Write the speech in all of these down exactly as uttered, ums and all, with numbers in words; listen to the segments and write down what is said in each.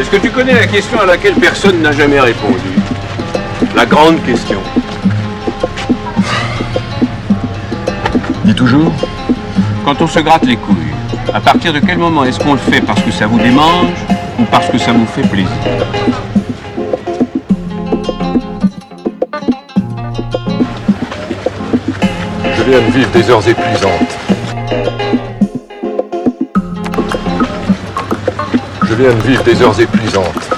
Est-ce que tu connais la question à laquelle personne n'a jamais répondu? La grande question. Dis toujours. Quand on se gratte les couilles, à partir de quel moment est-ce qu'on le fait parce que ça vous démange ou parce que ça vous fait plaisir? Je viens de vivre des heures épuisantes. Je viens de vivre des heures épuisantes.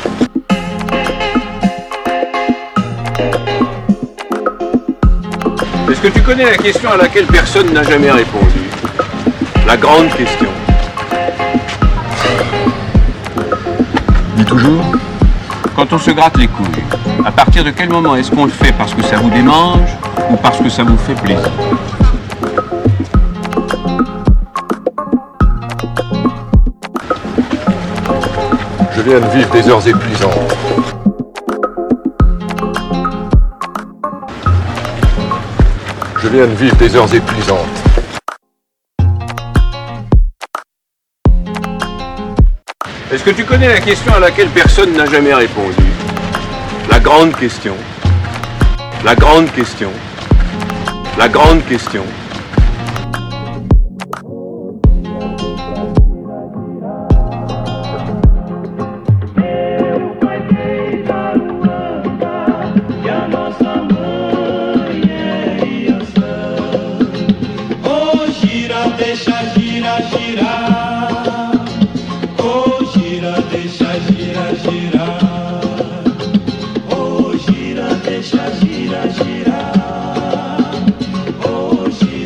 Est-ce que tu connais la question à laquelle personne n'a jamais répondu? La grande question. Dis toujours. Quand on se gratte les couilles, à partir de quel moment est-ce qu'on le fait parce que ça vous démange ou parce que ça vous fait plaisir? Je viens de vivre des heures épuisantes. Je viens de vivre des heures épuisantes. Est-ce que tu connais la question à laquelle personne n'a jamais répondu? La grande question. La grande question. La grande question. Gira, deixa, gira, gira. Oh, gira.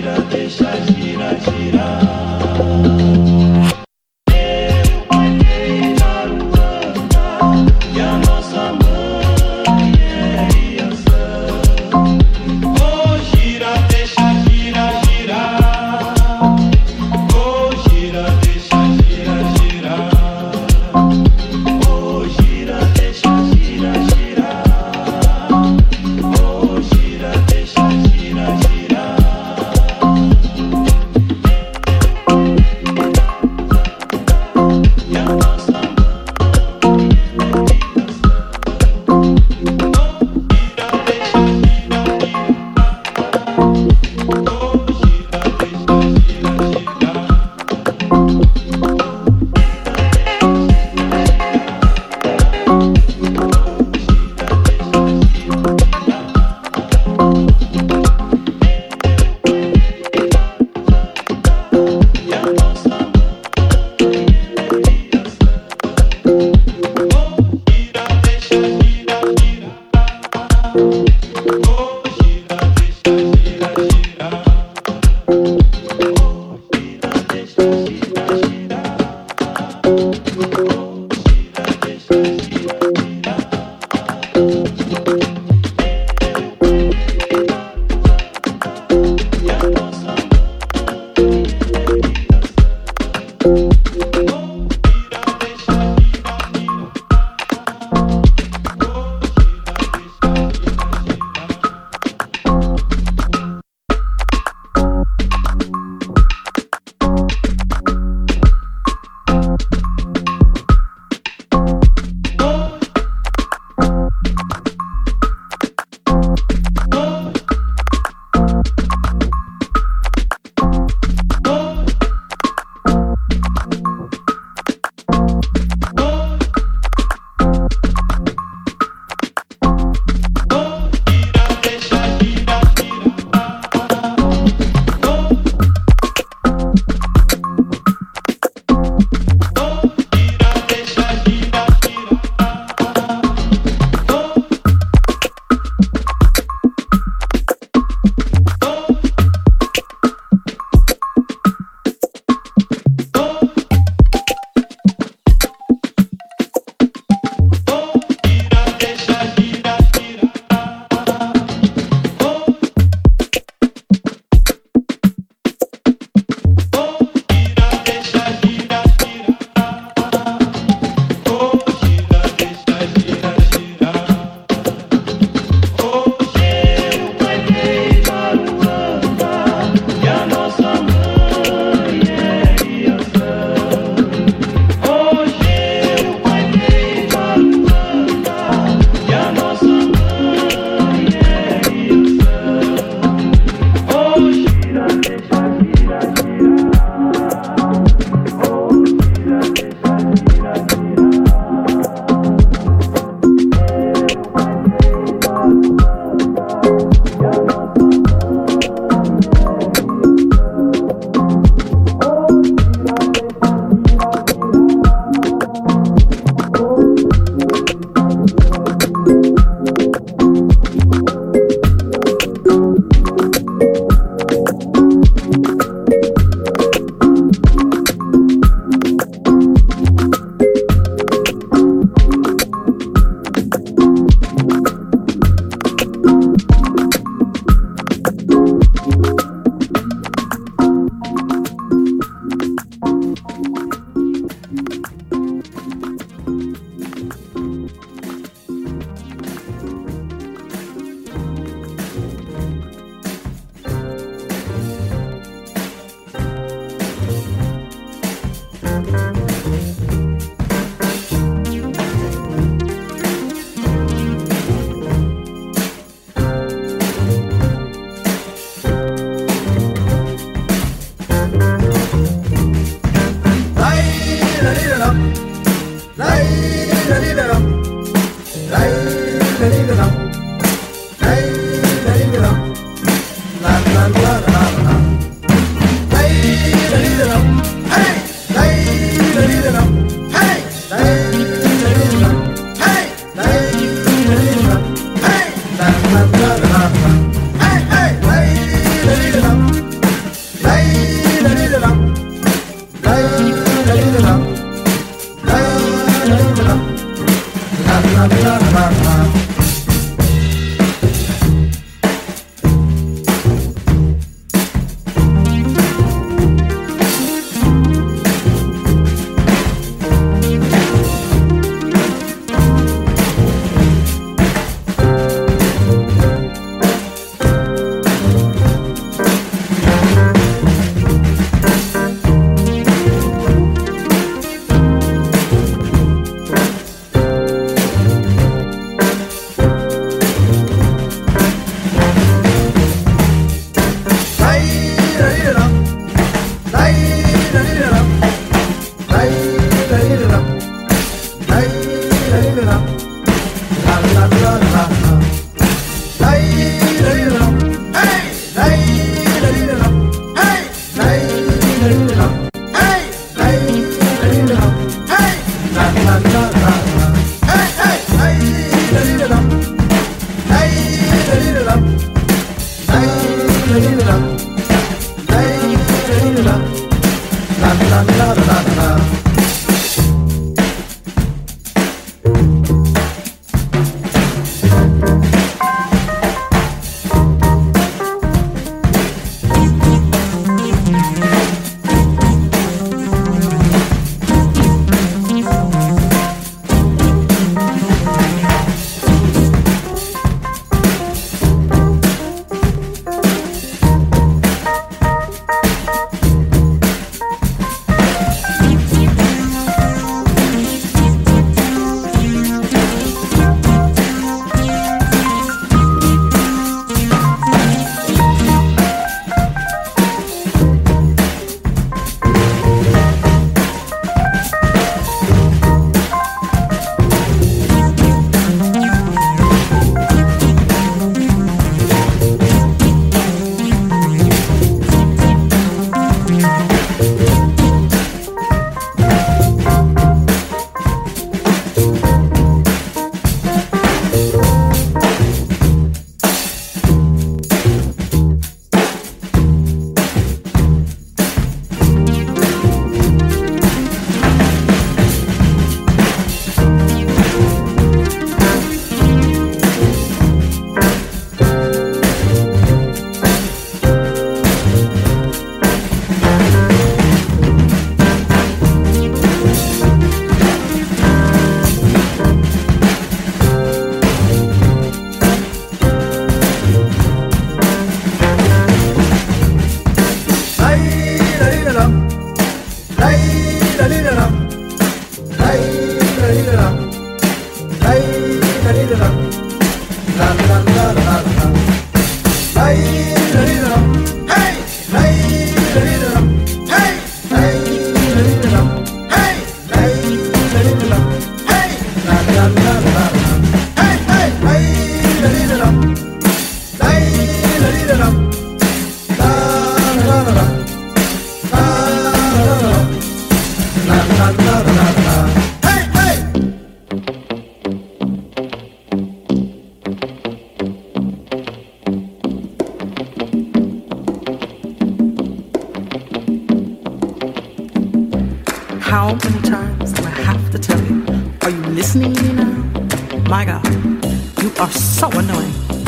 How many times do I have to tell you? Are you listening to me now? My God, you are so annoying.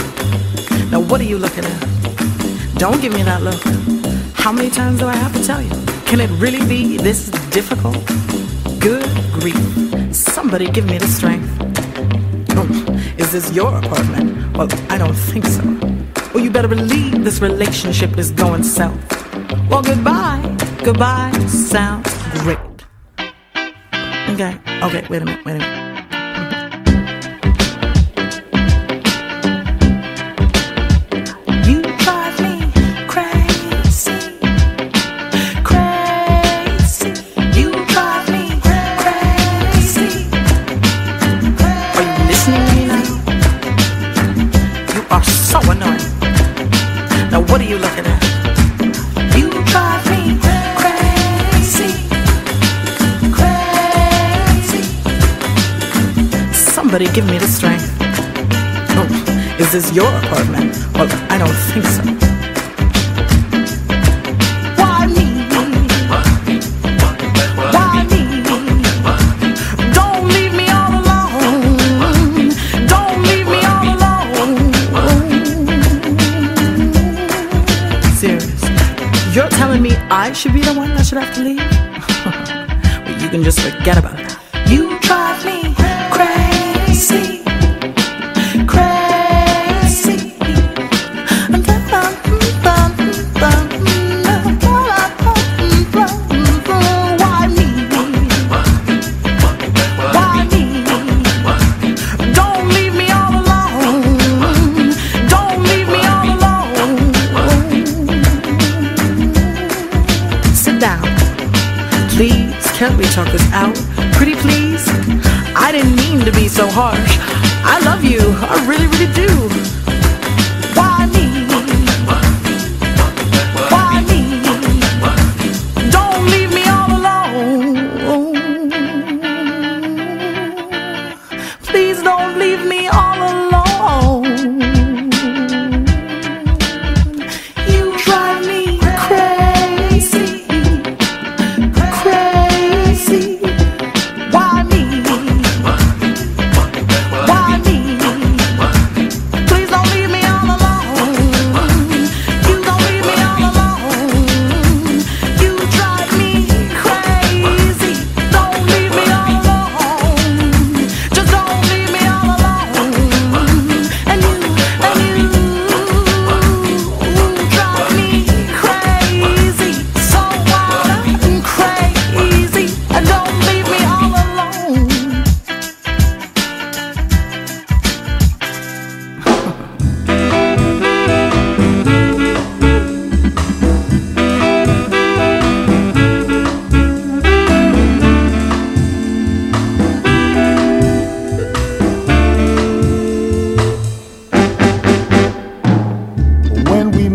Now what are you looking at? Don't give me that look. How many times do I have to tell you? Can it really be this difficult? Good grief. Somebody give me the strength. Oh, is this your apartment? Well, I don't think so. Well, you better believe this relationship is going south. Well, goodbye. Goodbye sounds great. Okay, okay, wait a minute, wait a minute. You drive me crazy, crazy. You drive me crazy. Are you listening to me now? You are so annoying. Now what are you looking at? You drive me crazy, crazy. Somebody give me the strength. Oh, is this your apartment? Well, I don't think so. Why me? Why me? Don't leave me all alone. Don't leave me all alone. Serious. You're telling me I should be the one that should have to leave? Well, you can just forget about it. You drive me crazy, crazy. Why me? Why me? Don't leave me all alone. Don't leave me all alone. Sit down. Please, can't we talk this out? Pretty please? I didn't mean to be so harsh. I love you, I really, really do. Why me? Why me? Don't leave me all alone. Please don't leave me all alone.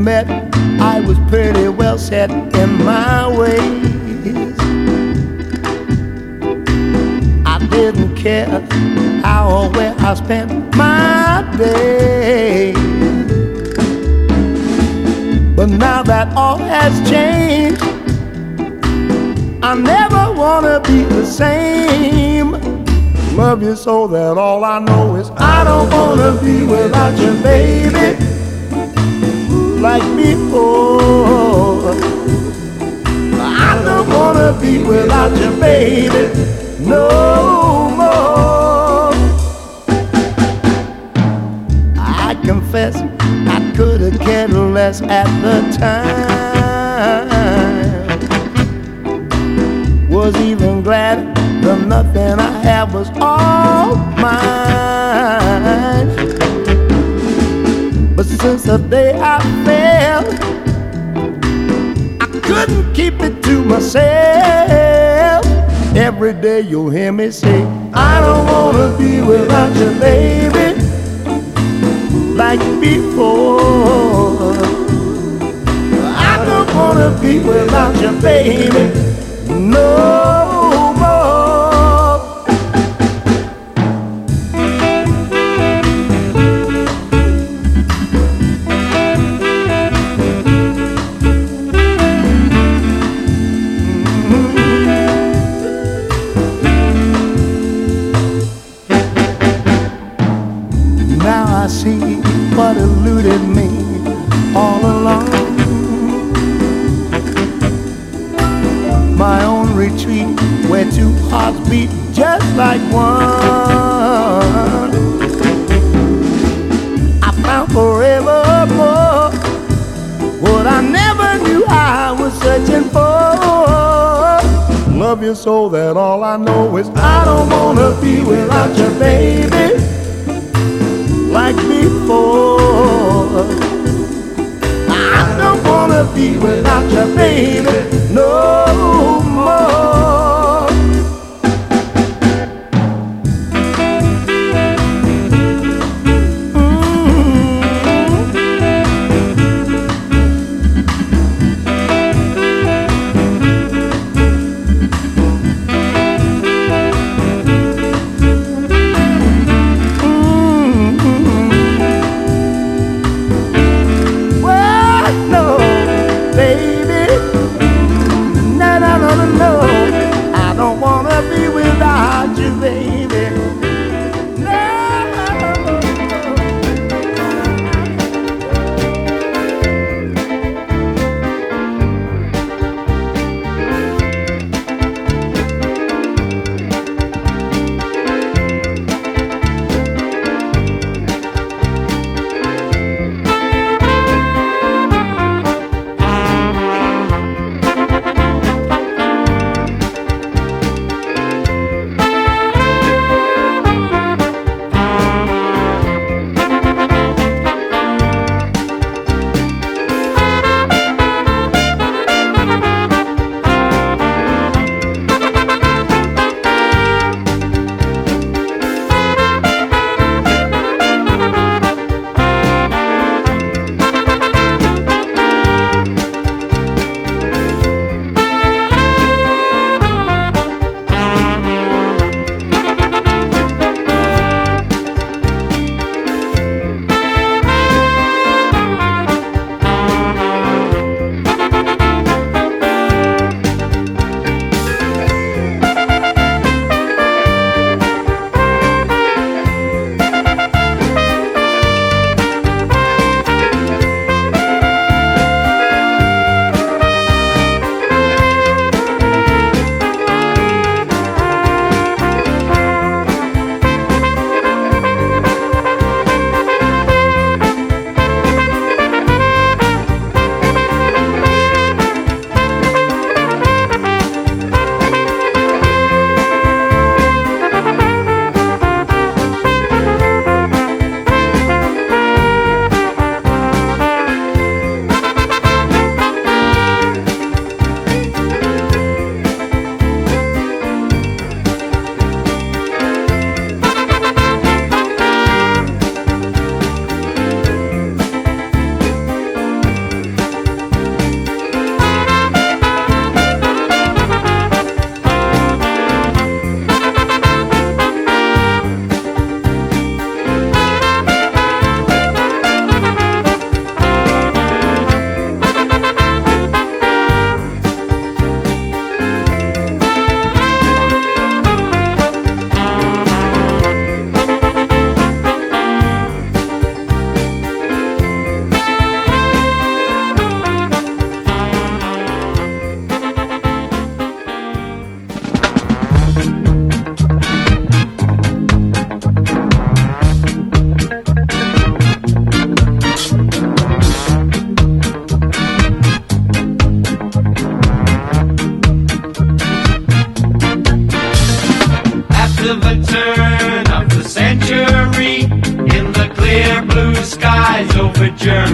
met, I was pretty well set in my ways. I didn't care how or where I spent my day. But now that all has changed, I never wanna be the same. Love you so that all I know is I don't wanna be without you, baby, like before. I don't wanna be without you, baby, no more. I confess I could have cared less at the time. Was even glad the nothing I had was all mine. But since the day I fell, I couldn't keep it to myself. Every day you'll hear me say, I don't wanna be without you, baby, like before. I don't wanna be without you, baby, no more. Now I see what eluded me all along. My own retreat where two hearts beat just like one. I found forevermore what I never knew I was searching for. Love you so that all I know is I don't wanna be without you, baby, like before. I don't wanna be without you, baby, no more. Well, no, baby,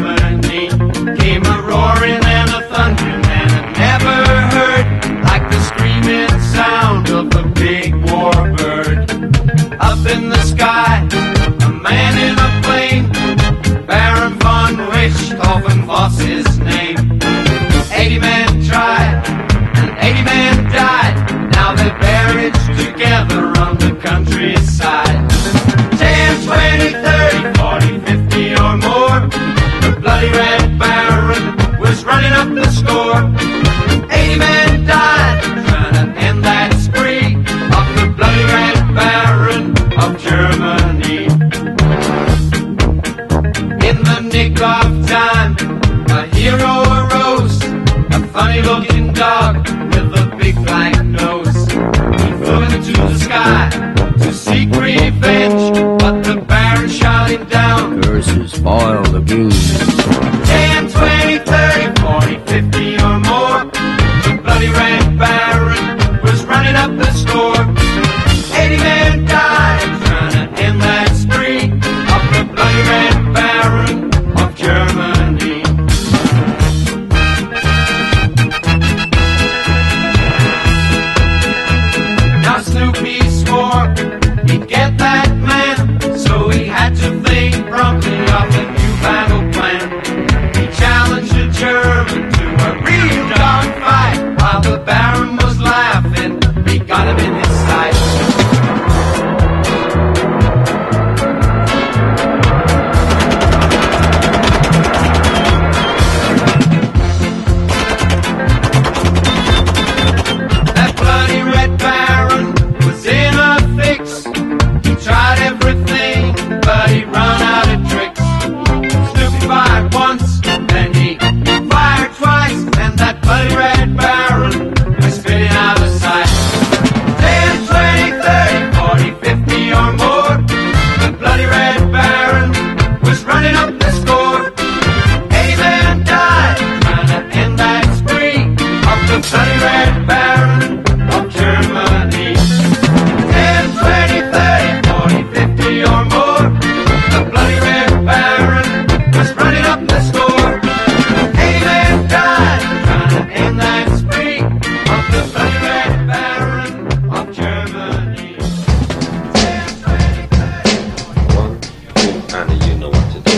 Germany came a roaring and a thundering, and I never heard like the screaming sound of a big warbird. Up in the sky, a man in a plane, Baron von Richthofen was his name. Eighty men tried, and eighty men died. Now they're buried together on the countryside. Ten, twenty, thirty, forty, fifty or more. The bloody Red Baron was running up the score. Eighty men died trying to end that spree of the bloody Red Baron of Germany. In the nick of time, a hero arose, a funny-looking dog with a big black nose. He flew into the sky to seek revenge, but the Baron shot him down. Curses spoil the goose. Ten, twenty, thirty, forty, fifty or more. The bloody Red Baron was running up the score. Eighty men died trying to end that spree of the bloody Red Baron of Germany. Now Snoopy swore he'd get that man, so he had to think promptly of a new battle plan. He challenged a German to a real dogfight. While the Baron was laughing, he got him in his sights. That bloody Red Baron was in a fix. He tried everything, but he run out of tricks. Snoopy fired once, then he fired twice, and that bloody Red Baron was spitting out of sight. Ten, twenty, thirty, forty, fifty or more. The bloody Red Baron was running up the score. Eighty men died trying to end that spree of the bloody Red Baron of Germany. Ten, twenty, thirty, forty, fifty or more. The bloody Red Baron was running up the score. Eighty men died trying to end that spree of the bloody Red Baron of Germany. Ten, twenty, thirty, One, two, and you know what to do.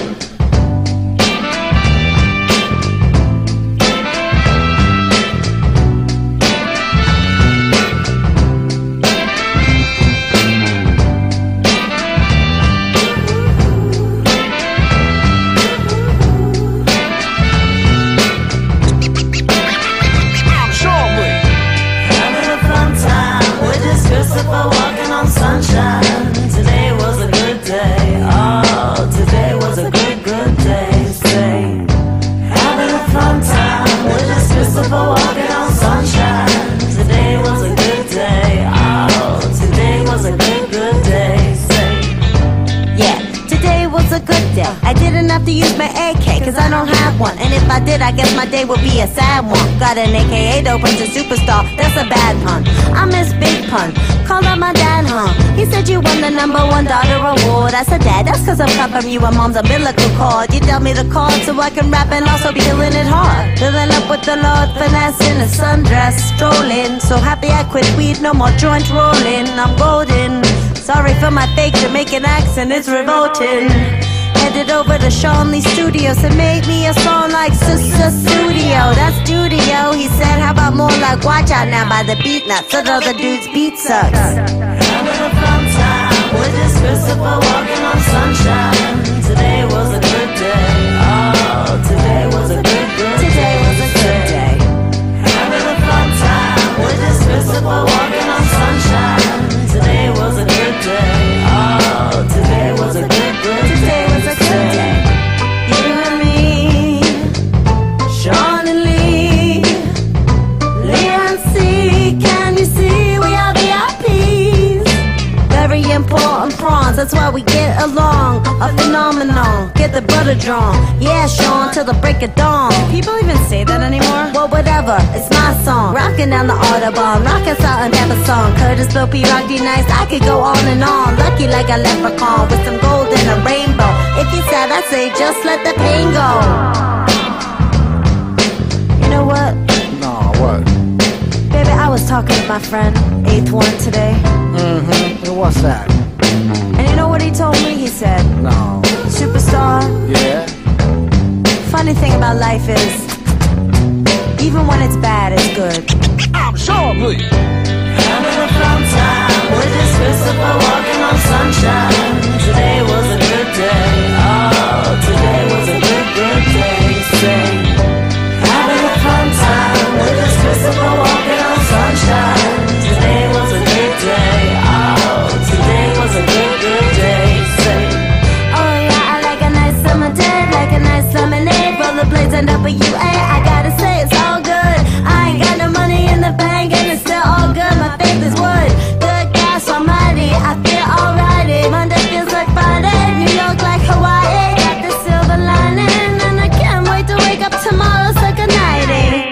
Having a fun time with this Christopher walking on sunshine. Today was a good day. Oh, today was a good, good day. Say, having a fun time with this Christopher walking on sunshine. Today was a good day. Oh, today was a good, good day. Say, Yeah, today was a good day. I didn't have to use my A K, cause I don't have one. And if I did, I guess my day would be a sad one. Got an A K A open to superstar, that's a bad pun. I miss Big Pun, called up my dad, huh? He said you won the number one daughter award. I said, Dad, that's cause I'm cut from you and mom's umbilical cord. You dealt me the card so I can rap and also be feeling it hard. Filling up with the Lord, finesse in a sundress, strolling. So happy I quit weed, no more joint rolling. I'm golden. Sorry for my fake Jamaican accent, it's revolting. Headed over to Sean Lee Studios and made me a song like Sister Studio. That's studio. He said, how about more like Watch Out Now by the Beat Nuts. So the other dude's beat sucks. having a fun time with this Christopher walking on sunshine. Today was a good day. Oh, today was a good, good day. Today was a good day. Having a fun time with this Christopher walking on sunshine. Today was a good day. Oh, today was a good, good day. Today was a good day. You and me, Sean and Lee, Lee and C. Can you see we are V I Ps? Very important prawns, that's why we get along. A phenomenon, get the butter drawn. Yeah, Sean, till the break of dawn. People even say that anymore? Well, whatever, it's my song. Rocking down the Audubon, rocking Salt and Pepper song. Curtis, Bill P, Rock D, Nice, I could go on and on. Lucky like a leprechaun with some gold and a rainbow. If you're sad, I say just let the pain go. You know what? No, what? Baby, I was talking to my friend, Eighth One, today. Mm-hmm. And what's that? And you know what he told me? He said, No. Superstar, Yeah? funny thing about life is, even when it's bad, it's good. I'm sure, please. Having a fun time with this Christopher walking on sunshine. Today was a good day. Oh, today was a good, good day. Say, having a fun time with this Christopher walking on sunshine. Today was a good day. Oh, today was a good, good day. Say, Oh yeah, I like a nice summer day, like a nice lemonade. Rollerblades and W A, I gotta say it's all good. I ain't got no money in the bank and it's still all good. My faith is wood, good gas almighty. I feel alrighty, Monday feels like Friday, New York like Hawaii. Got the silver lining and I can't wait to wake up tomorrow, so good nighty.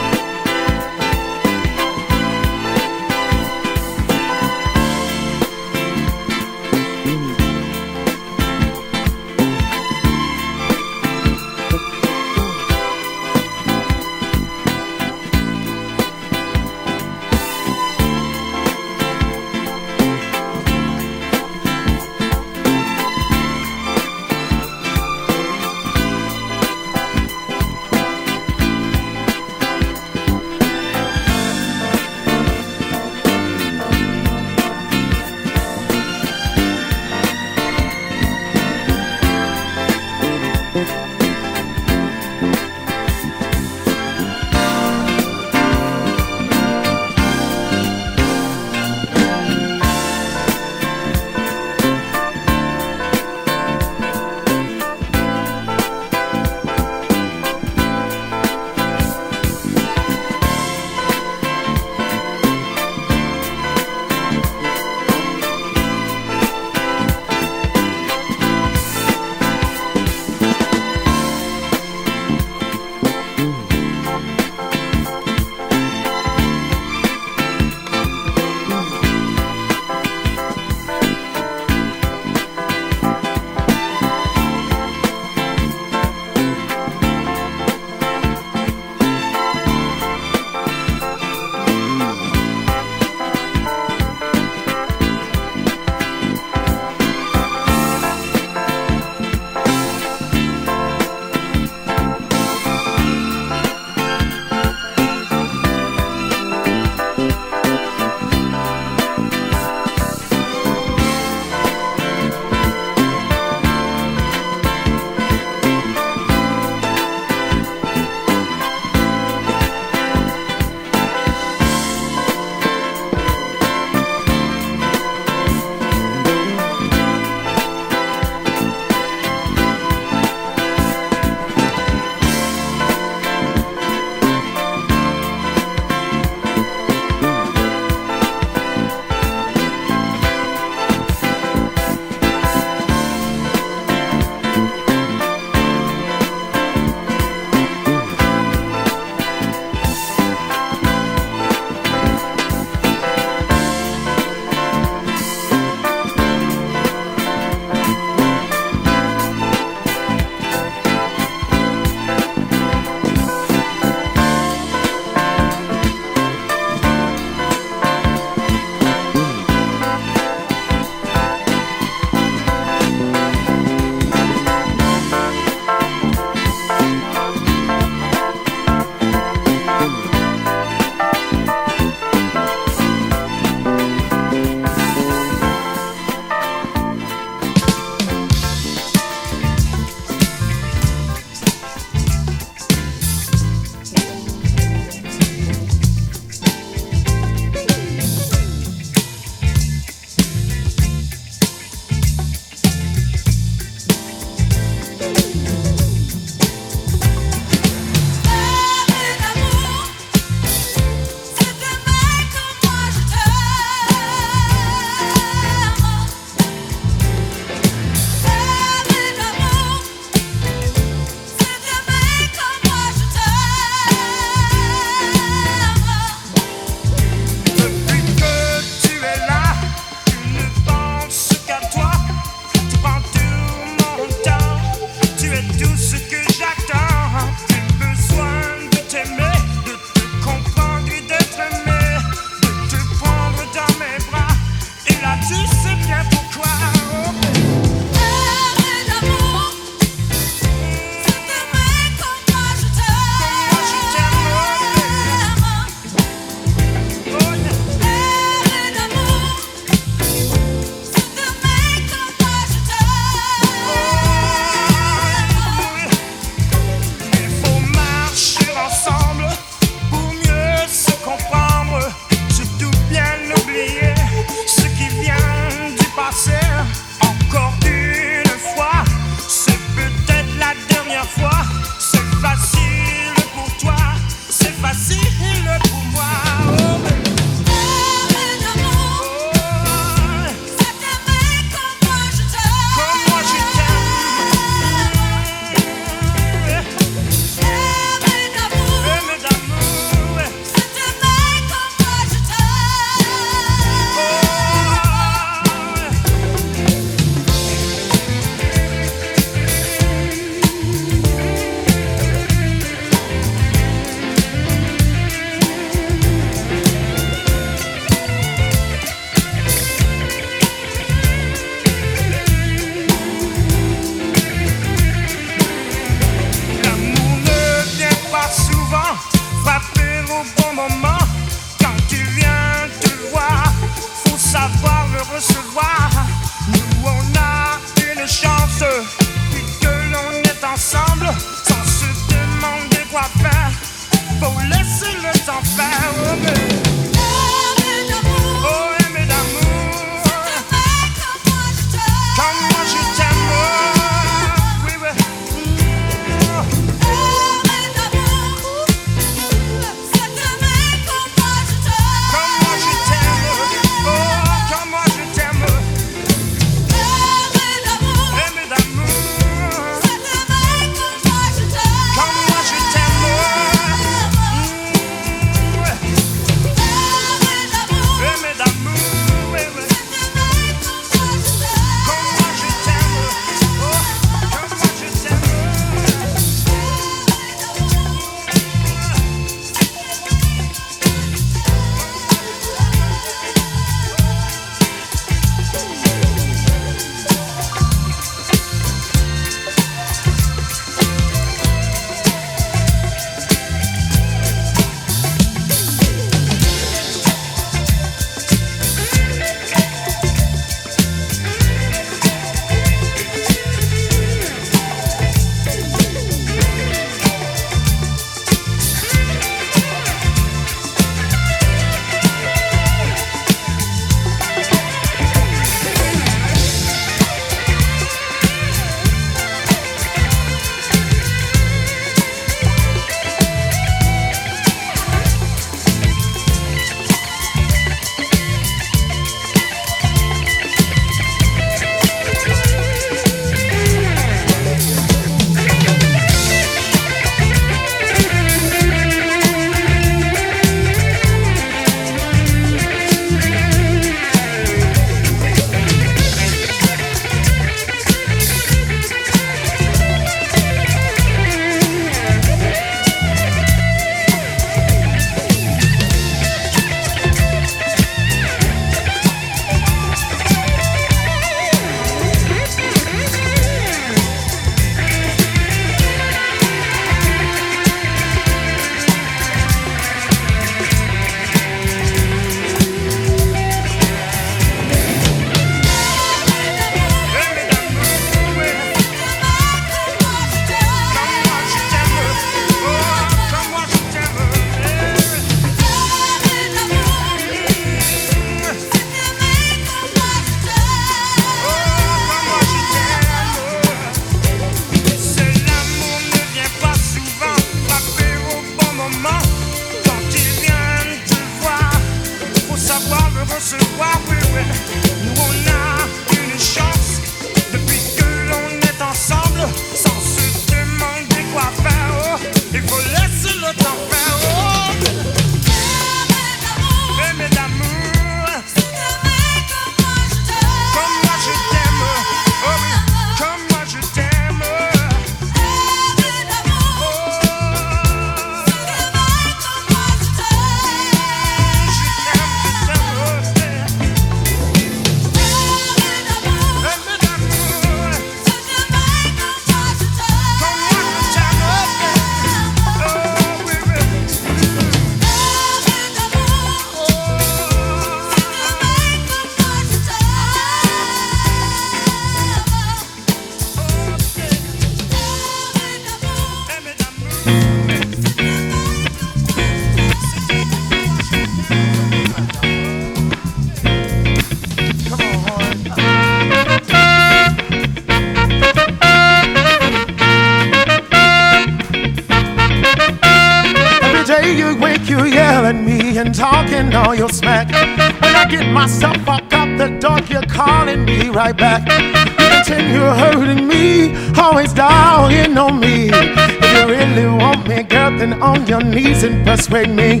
day you wake, you yell at me and talking all your smack. When I get myself walk out the door, you're calling me right back. You continue hurting me, always dogging on me. If you really want me, girl, then on your knees and persuade me.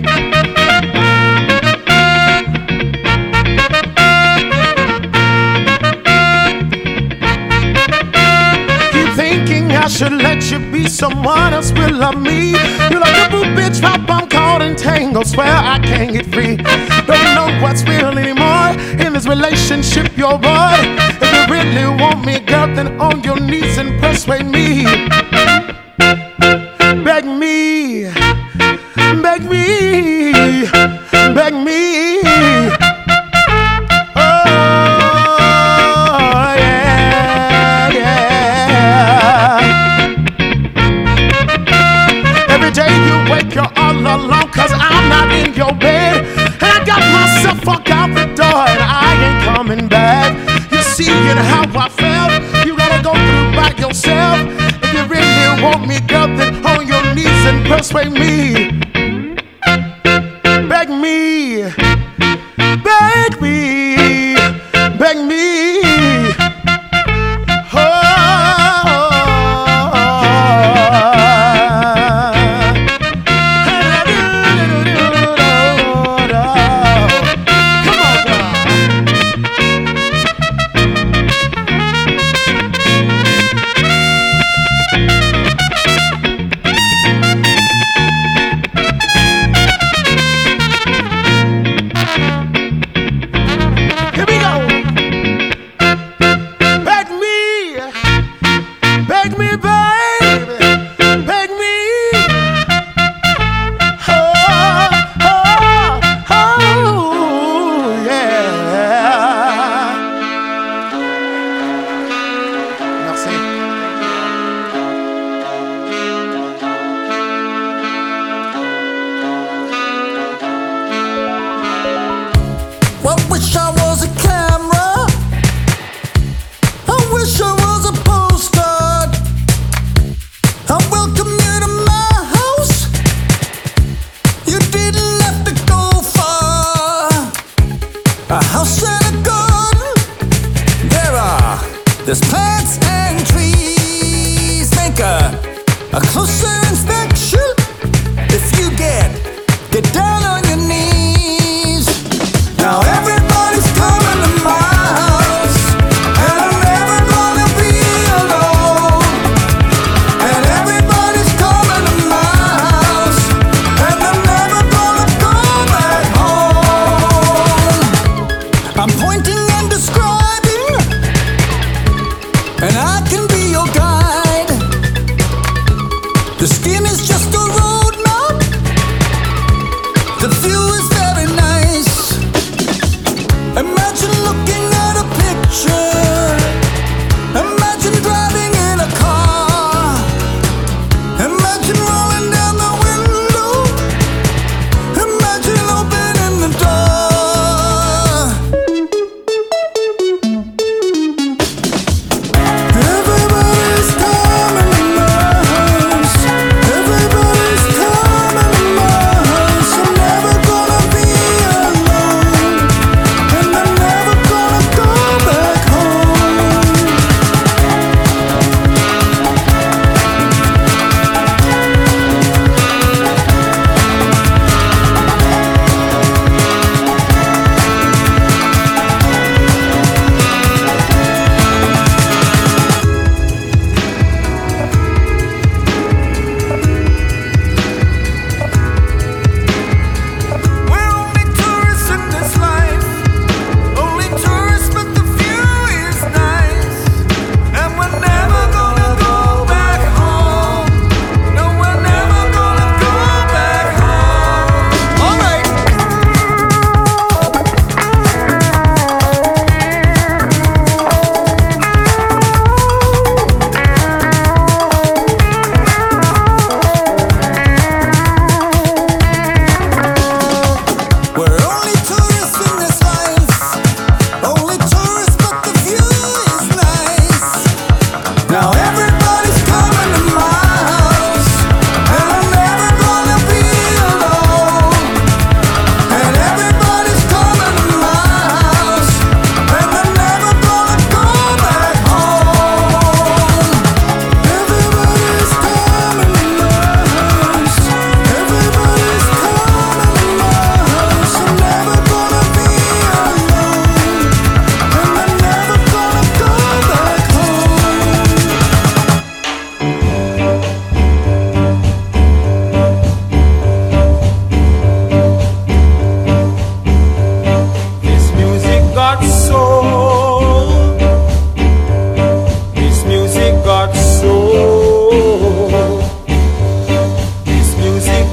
I should let you be someone else will love me. You're like a boo bitch, pop, I'm caught in tangle. Swear I can't get free. Don't know what's real anymore in this relationship, your boy. If you really want me, girl, then on your knees and persuade me. Beg me, beg me, beg me. You're all alone cause I'm not in your bed. And I got myself walk out the door and I ain't coming back. You see it how I felt. You gotta go through by yourself. If you really want me, girl, then on your knees and persuade me. Beg me, beg me, beg me.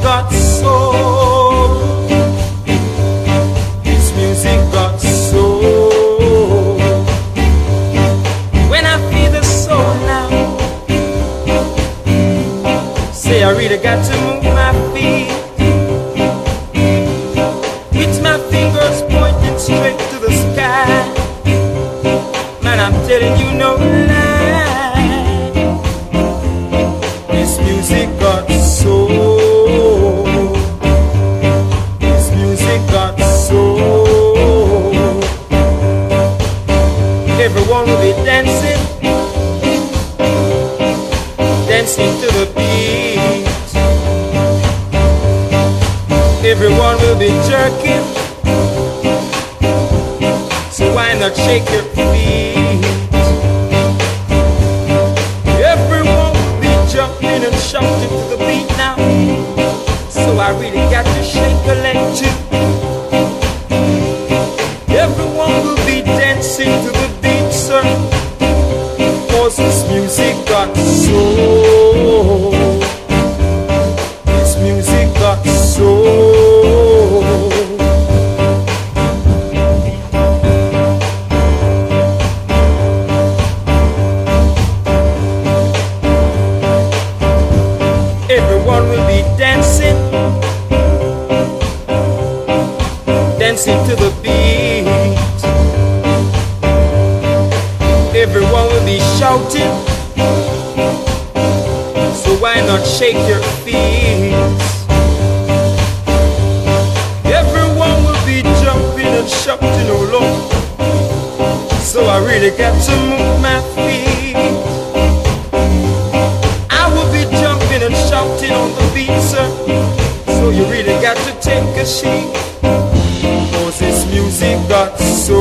got soul. This music got soul. When I feel the soul now, say I really got to move my feet. With my fingers pointing straight to the sky. Man, I'm telling you no lie. This music got soul. This music got soul. Everyone will be dancing, dancing to the beat. Everyone will be jerking, so why not shake your feet? Everyone will be jumping and shouting to the beat now, so I really got to shake a leg too. Everyone will be dancing to the beat, sir, cause this music got soul. This music got soul. Everyone will be dancing, dancing to the beat. Everyone will be shouting, so why not shake your feet? Everyone will be jumping and shouting all over, so I really got to move my feet. I will be jumping and shouting on the beat, sir, so you really got to take a seat, cause this music got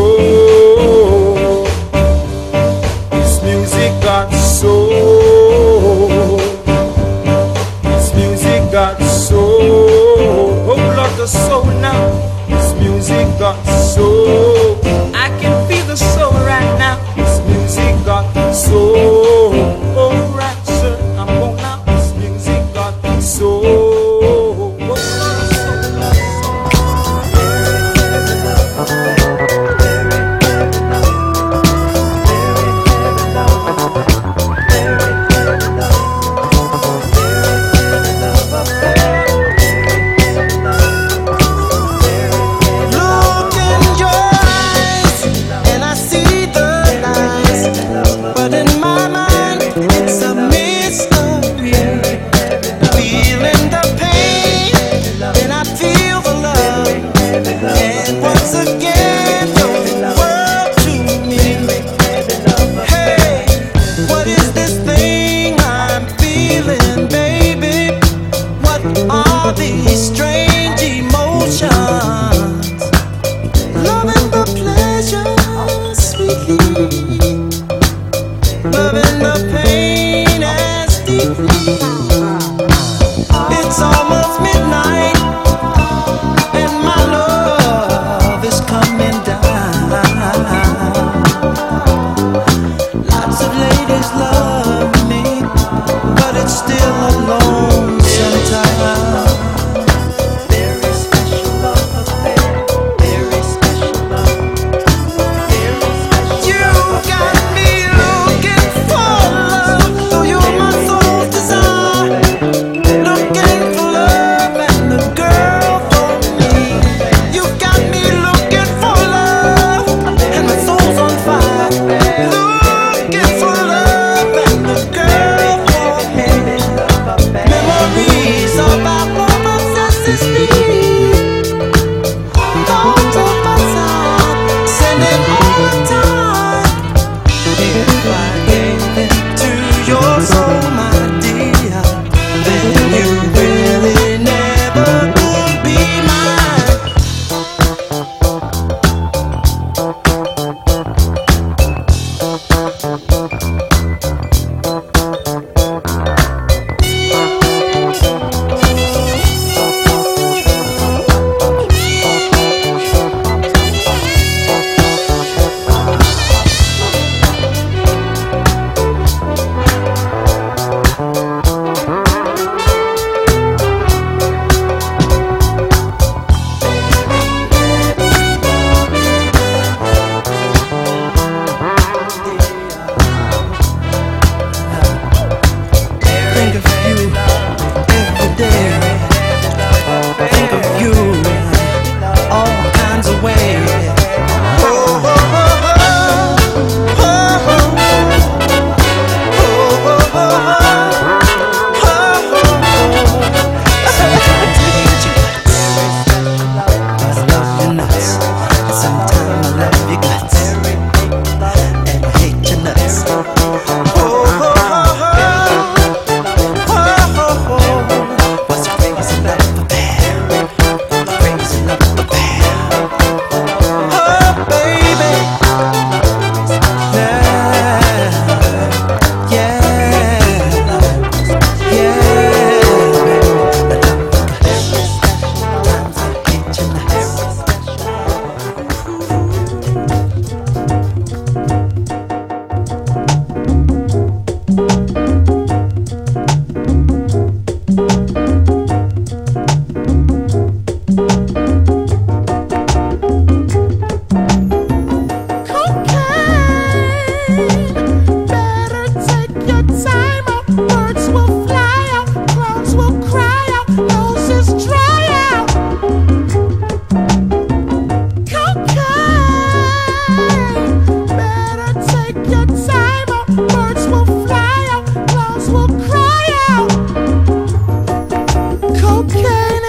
soul. This music got soul. This music got soul. Oh, Lord, the soul now. This music got soul. I can feel the soul right now. This music got soul. Oh, right, sir, I'm going out. This music got soul.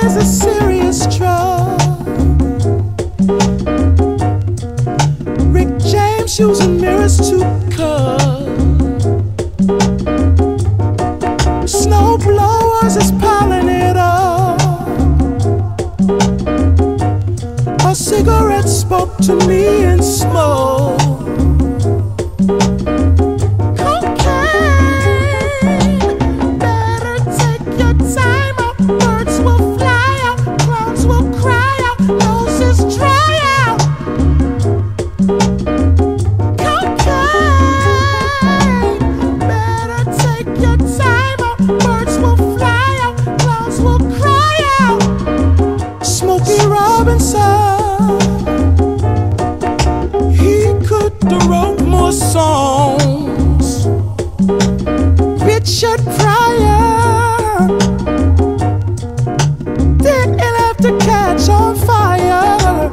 is a serious drug. Rick James using mirrors to cut. Snow blowers is piling it up. A cigarette spoke to me in smoke. Songs. Richard Pryor didn't have to catch on fire.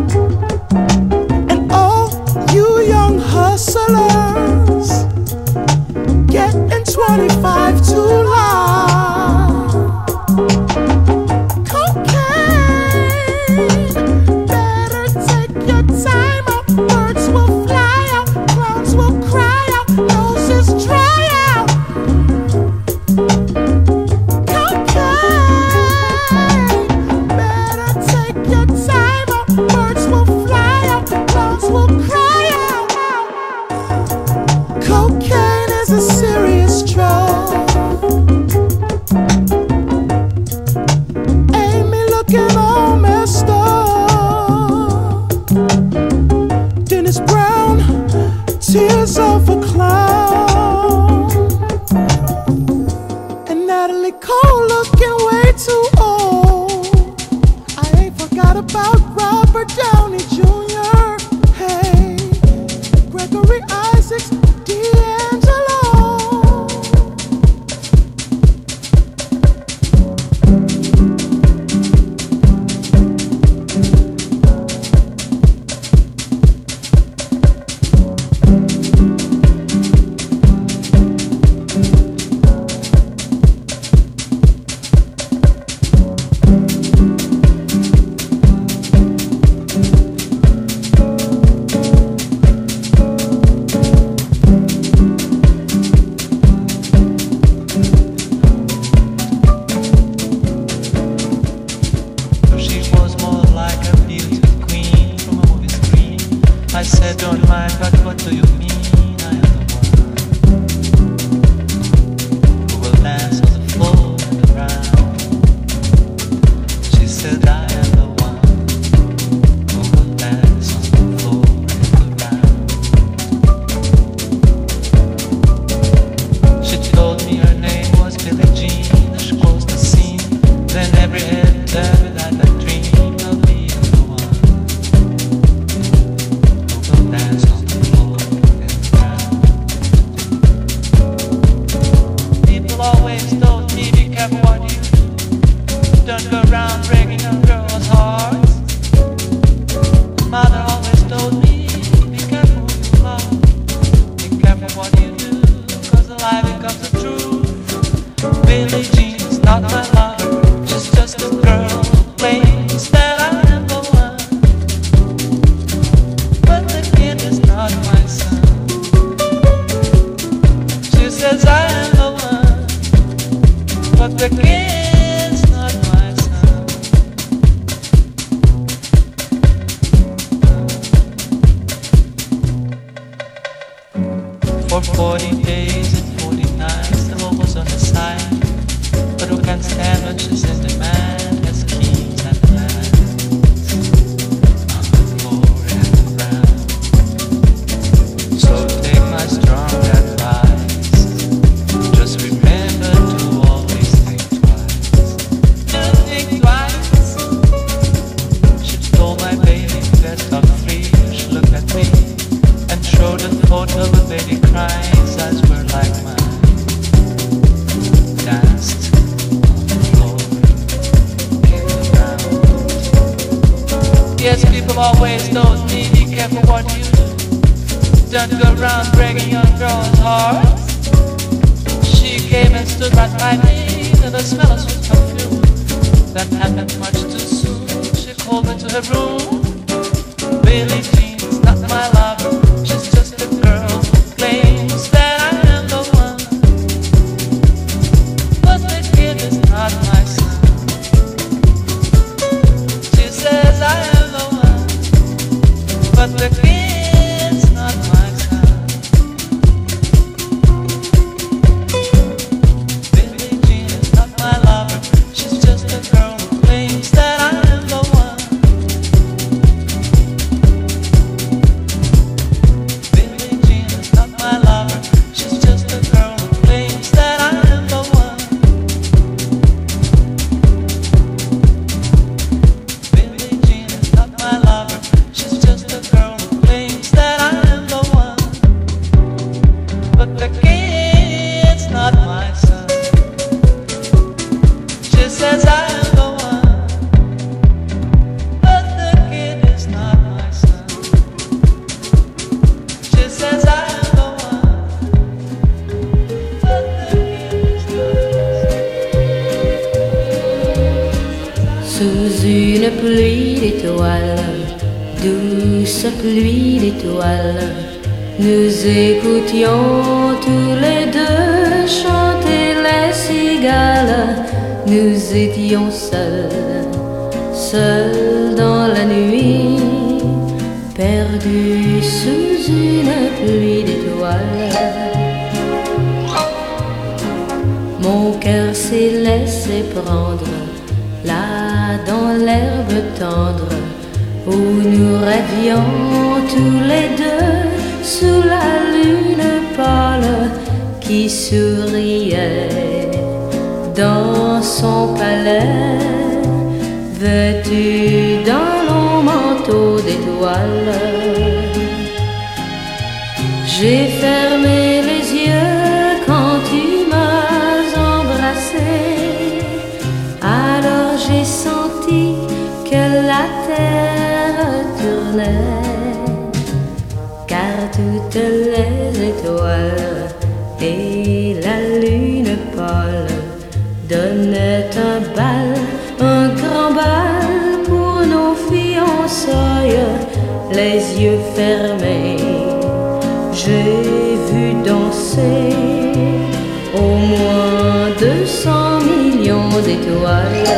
And all you young hustlers getting twenty-five too loud. Cocaine, better take your time out. Birds will fly out. Will cry out, noses dry out. Cocaine, better take your time out. Birds will fly out, clouds will cry out. Cocaine is a serious drug. Amy looking all messed up. Dennis Brown, tears of a clown. And Natalie Cole looking way too old. I ain't forgot about Robert Downey Junior Hey, Gregory Isaacs, D'Angelo. That happened much too soon. She called me to her room. Billie Jean's not my lover. She's just a girl who claims that I am the one. But the kid is not my son. She says I am the one. But the kid's not my son. Billie Jean is not my lover. She's just a girl who claims that I am the one. Billie Jean is not my lover. She's just a girl who claims that I am the one. Billie Jean is not my lover. She's just a girl who claims that I am the one. But the kid's not my son. She says I am the one. But the kid is not my son. She says I am the one. But the kid is not my son. Sous une pluie d'étoiles, douce pluie d'étoiles, nous écoutions tous les deux chanter les cigales. Nous étions seuls, seuls dans la nuit, perdus sous une pluie d'étoiles. Mon cœur s'est laissé prendre là dans l'herbe tendre où nous rêvions tous les deux sous la lune pâle qui souriait dans son palais, vêtu d'un long manteau d'étoiles. J'ai fermé les yeux quand tu m'as embrassé. Alors j'ai senti que la terre tournait, car toutes les étoiles et la lune pâle donnaient un bal, un grand bal pour nos fiançailles. Les yeux fermés, j'ai vu danser au moins deux cents millions d'étoiles.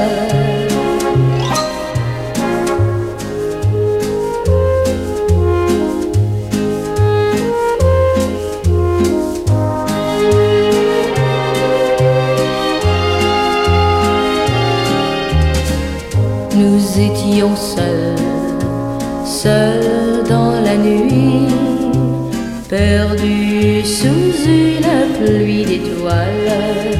Nous étions seuls, seuls dans la nuit, perdus sous une pluie d'étoiles.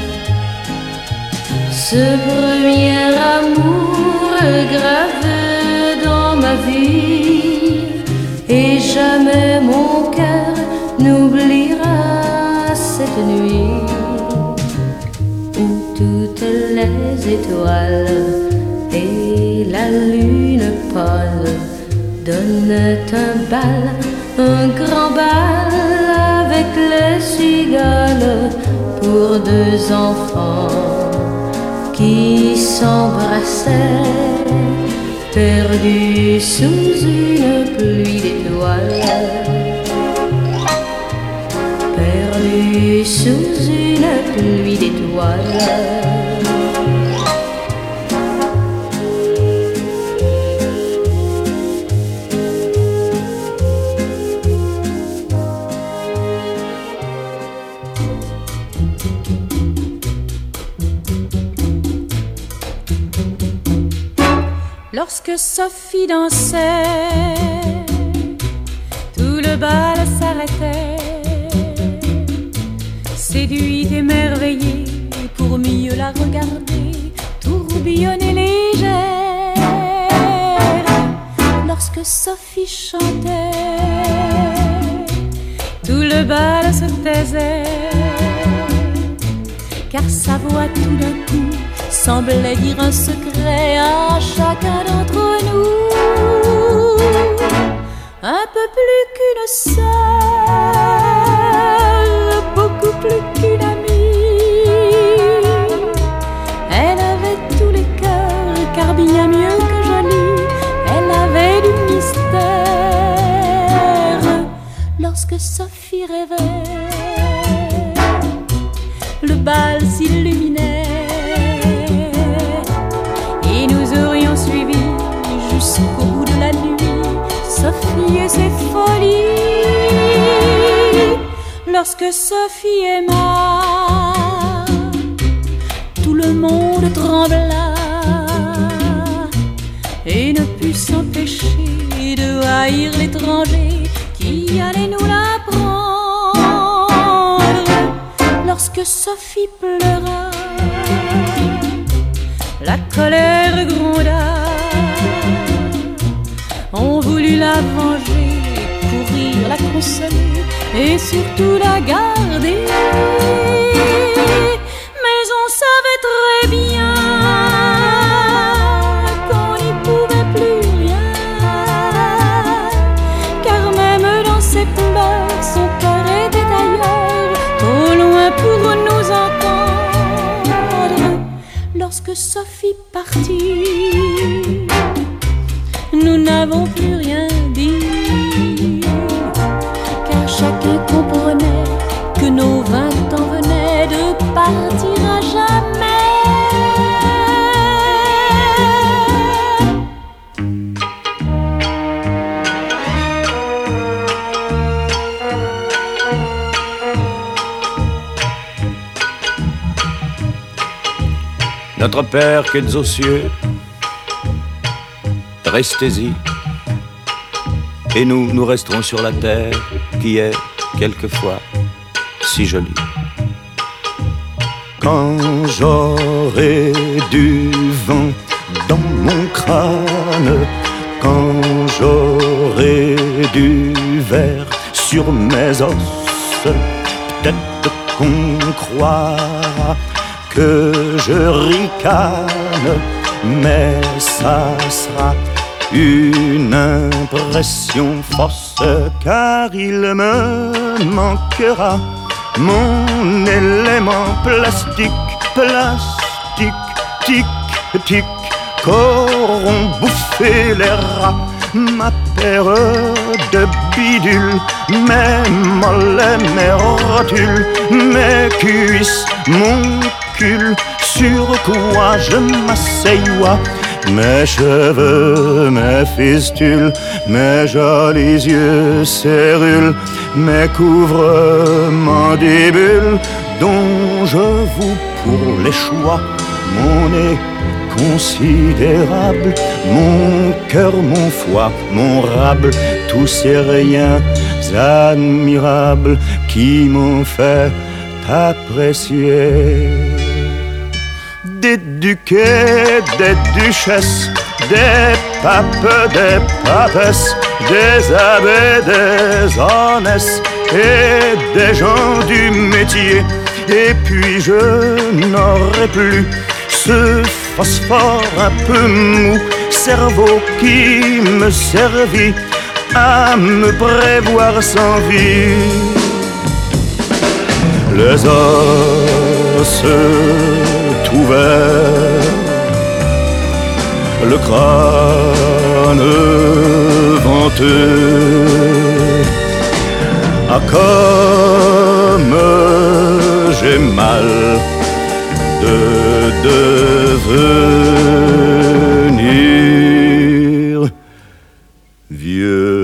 Ce premier amour gravé dans ma vie, et jamais mon cœur n'oubliera cette nuit où toutes les étoiles et la lune pâle donnent un bal, un grand bal avec les cigales pour deux enfants qui s'embrassaient, perdus sous une pluie d'étoiles, perdus sous une pluie d'étoiles. Lorsque Sophie dansait, tout le bal s'arrêtait, séduite, émerveillée, pour mieux la regarder, tourbillonnée légère. Lorsque Sophie chantait, tout le bal se taisait, car sa voix tout d'un coup semblait dire un secret à chacun d'entre nous. Un peu plus qu'une sœur, beaucoup plus qu'une amie. Elle avait tous les cœurs bien mieux que jolie, elle avait du mystère. Lorsque Sophie rêvait, le bal s'illuminait et nous aurions suivi jusqu'au bout de la nuit Sophie et ses folies. Lorsque Sophie aima, tout le monde trembla et ne put s'empêcher de haïr l'étranger qui allait nous la prendre. Lorsque Sophie pleura, la colère gronda. On voulut la venger, courir, la consoler et surtout la garder. Mais on savait très bien qu'on n'y pouvait plus rien, car même dans ses pleurs, son cœur était ailleurs, trop loin pour nous entendre. Lorsque Sophie partit, nous n'avons plus rien dit, car chacun comprenait que nos vingt ans venaient de partir à jamais. Notre Père qui êtes aux cieux, restez-y, et nous, nous resterons sur la terre qui est quelquefois si jolie. Quand j'aurai du vent dans mon crâne, quand j'aurai du verre sur mes os, peut-être qu'on croira que je ricane, mais ça sera une impression fausse, car il me manquera mon élément plastique, plastique, tic, tic, qu'auront bouffé les rats, ma paire de bidules, mes mollets, mes rotules, mes cuisses, mon cul, sur quoi je m'asseyois, mes cheveux, mes fistules, mes jolis yeux cérules, mes couvre mandibules, dont je vous pour les choix, mon nez considérable, mon cœur, mon foie, mon rable, tous ces riens admirables qui m'ont fait apprécier des duquets, des duchesses, des papes, des papesses, des abbés, des honnêtes et des gens du métier. Et puis je n'aurai plus ce phosphore un peu mou, cerveau qui me servit à me prévoir sans vie. Les os ouverts, le crâne venteux, ah comme j'ai mal de devenir vieux.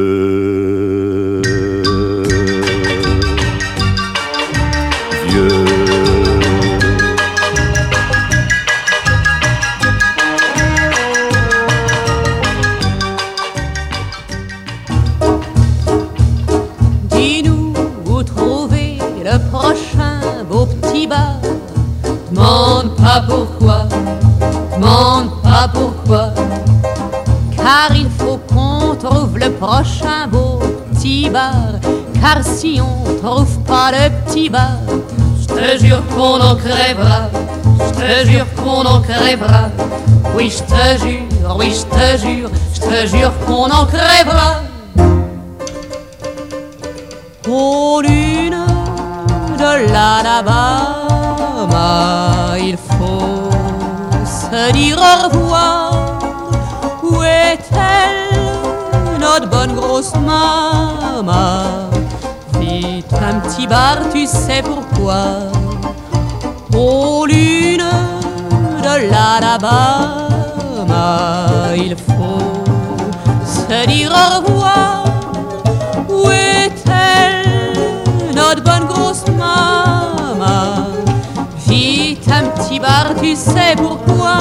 Pourquoi, demande pas pourquoi, car il faut qu'on trouve le prochain beau petit bar, car si on trouve pas le petit bar, je te jure qu'on en crèvera, je te jure qu'on en crèvera, oui je te jure, oui je te jure, je te jure qu'on en crèvera. Aux lunes de l'Alabama, il faut se dire au revoir, notre bonne grosse maman. Vite, un petit bar, tu sais pourquoi. Aux lunes de l'Alabama, il faut se dire au revoir. Où est-elle, notre bonne grosse maman? Vite, un petit bar, tu sais pourquoi.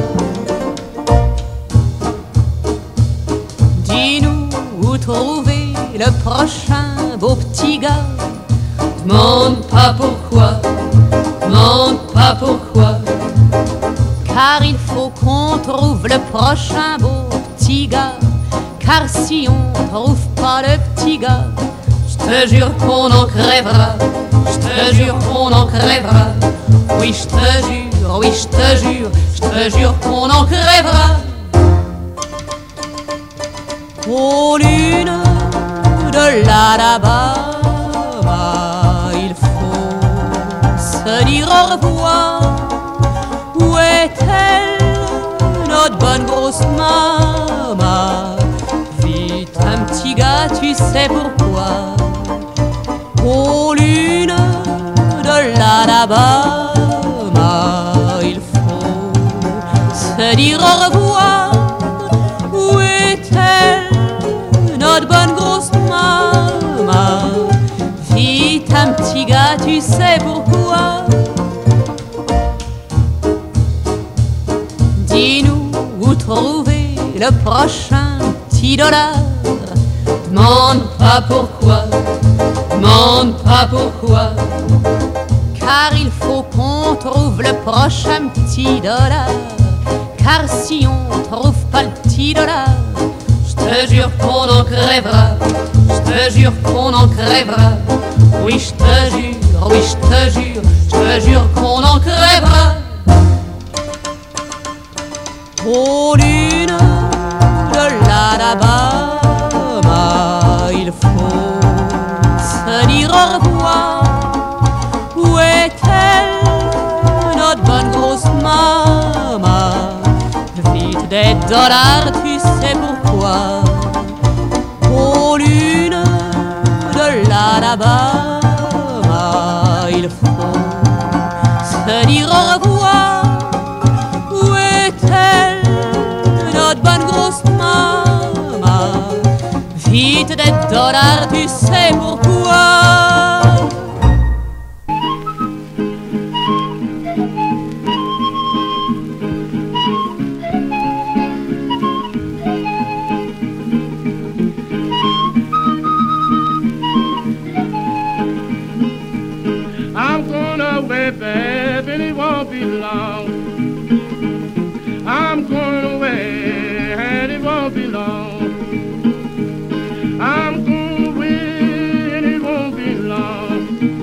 Dis-nous où trouver le prochain beau petit gars. Demande pas pourquoi, demande pas pourquoi, car il faut qu'on trouve le prochain beau petit gars. Car si on trouve pas le petit gars, je te jure qu'on en crèvera, je te jure qu'on en crèvera. Oui, je te jure, oui, je te jure, je te jure qu'on en crèvera. Aux lunes de l'Alabama, il faut se dire au revoir. Où est-elle, notre bonne grosse maman? Vite, un petit gars, tu sais pourquoi. Aux lunes de l'Alabama, il faut se dire au revoir. Où est-elle, notre bonne grosse maman? Vite, un petit gars, tu sais pourquoi. Dis-nous où trouver le prochain petit dollar. Demande pas pourquoi, demande pas pourquoi, car il faut qu'on trouve le prochain petit dollar. Car si on trouve pas le petit dollar, je te jure qu'on en crèvera, je te jure qu'on en crèvera. Oui, je te jure, oui, je te jure, je te jure qu'on en crèvera. Aux lunes de l'Alabama, il faut se dire au revoir. Où est-elle, notre bonne grosse maman? Vite, des dollars, tu sais pourquoi. Aux lunes de l'Alabama, il faut se dire au revoir. Où est-elle, notre bonne grosse maman? Vite, des dollars, tu sais pourquoi. I'm going away, babe, and it won't be long. I'm going away, and it won't be long. I'm going away, and it won't be long.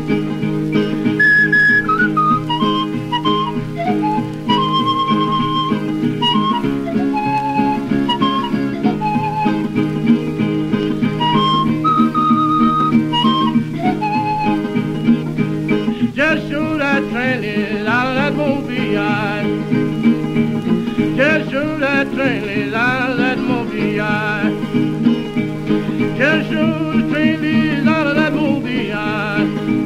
Just show that train is out of that movie eye. Just show that train is out of that movie eye. Just show the train is out of that movie eye.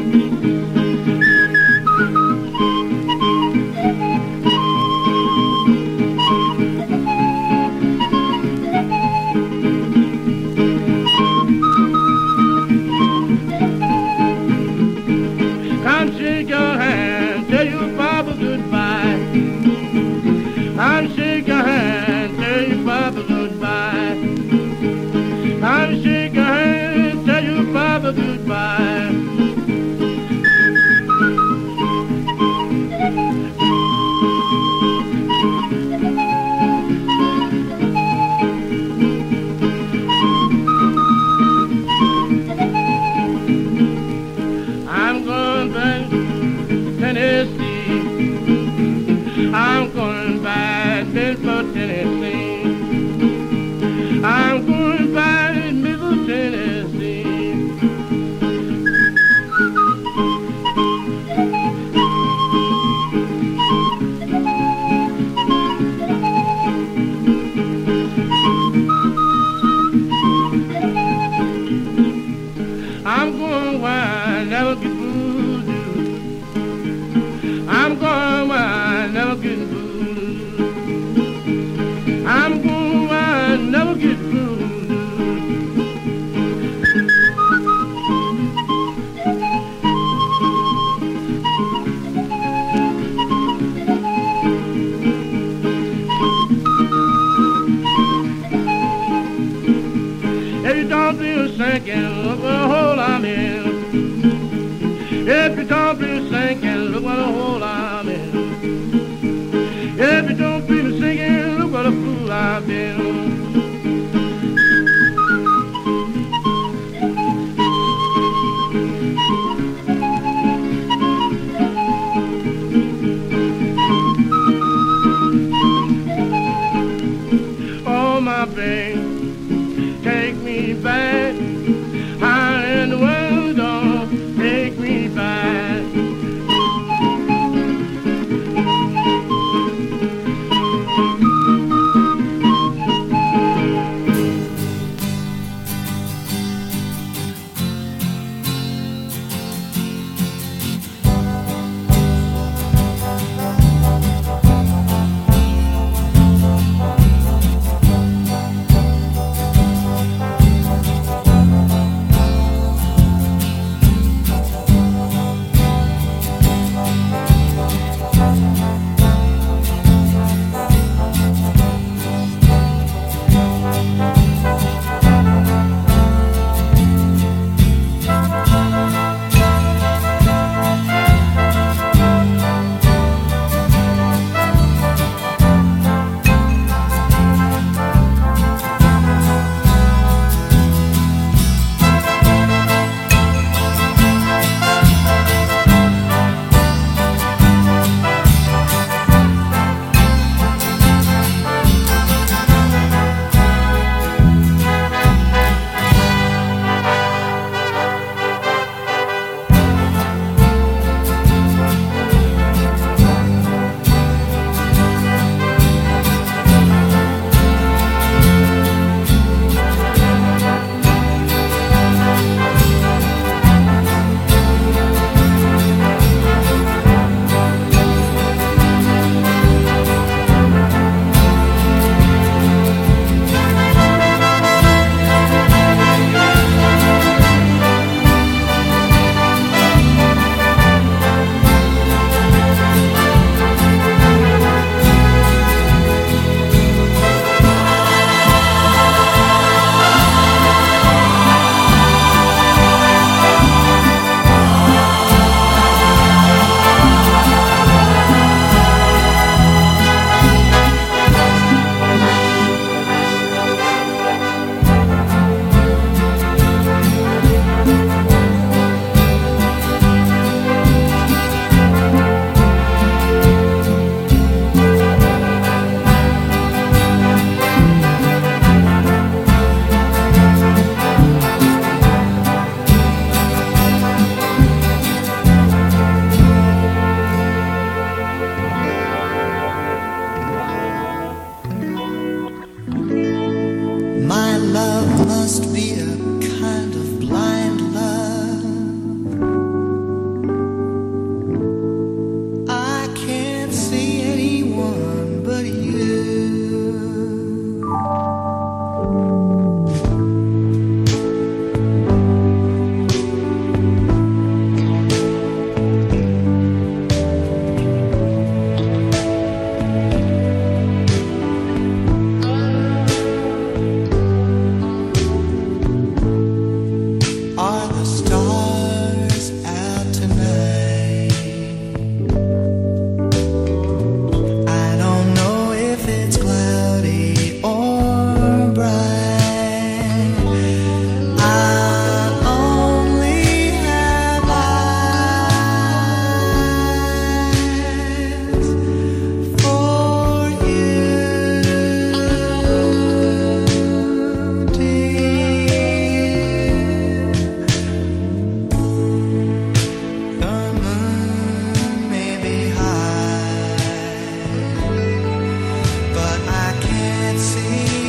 Come shake your hand, tell your papa goodbye. Come shake your hand, tell your papa goodbye. Come shake your hand, tell your papa drinking, look what a hole I'm in. If you don't be sinking, look what a hole I'm in. If you don't be singing, look what a fool I've been. Oh, my babe, take me back. How in the world don't take me back? see